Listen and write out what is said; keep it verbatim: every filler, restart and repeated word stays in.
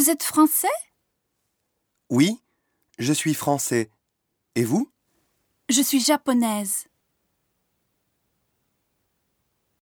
Vous êtes français? Oui, je suis français. Et vous? Je suis japonaise.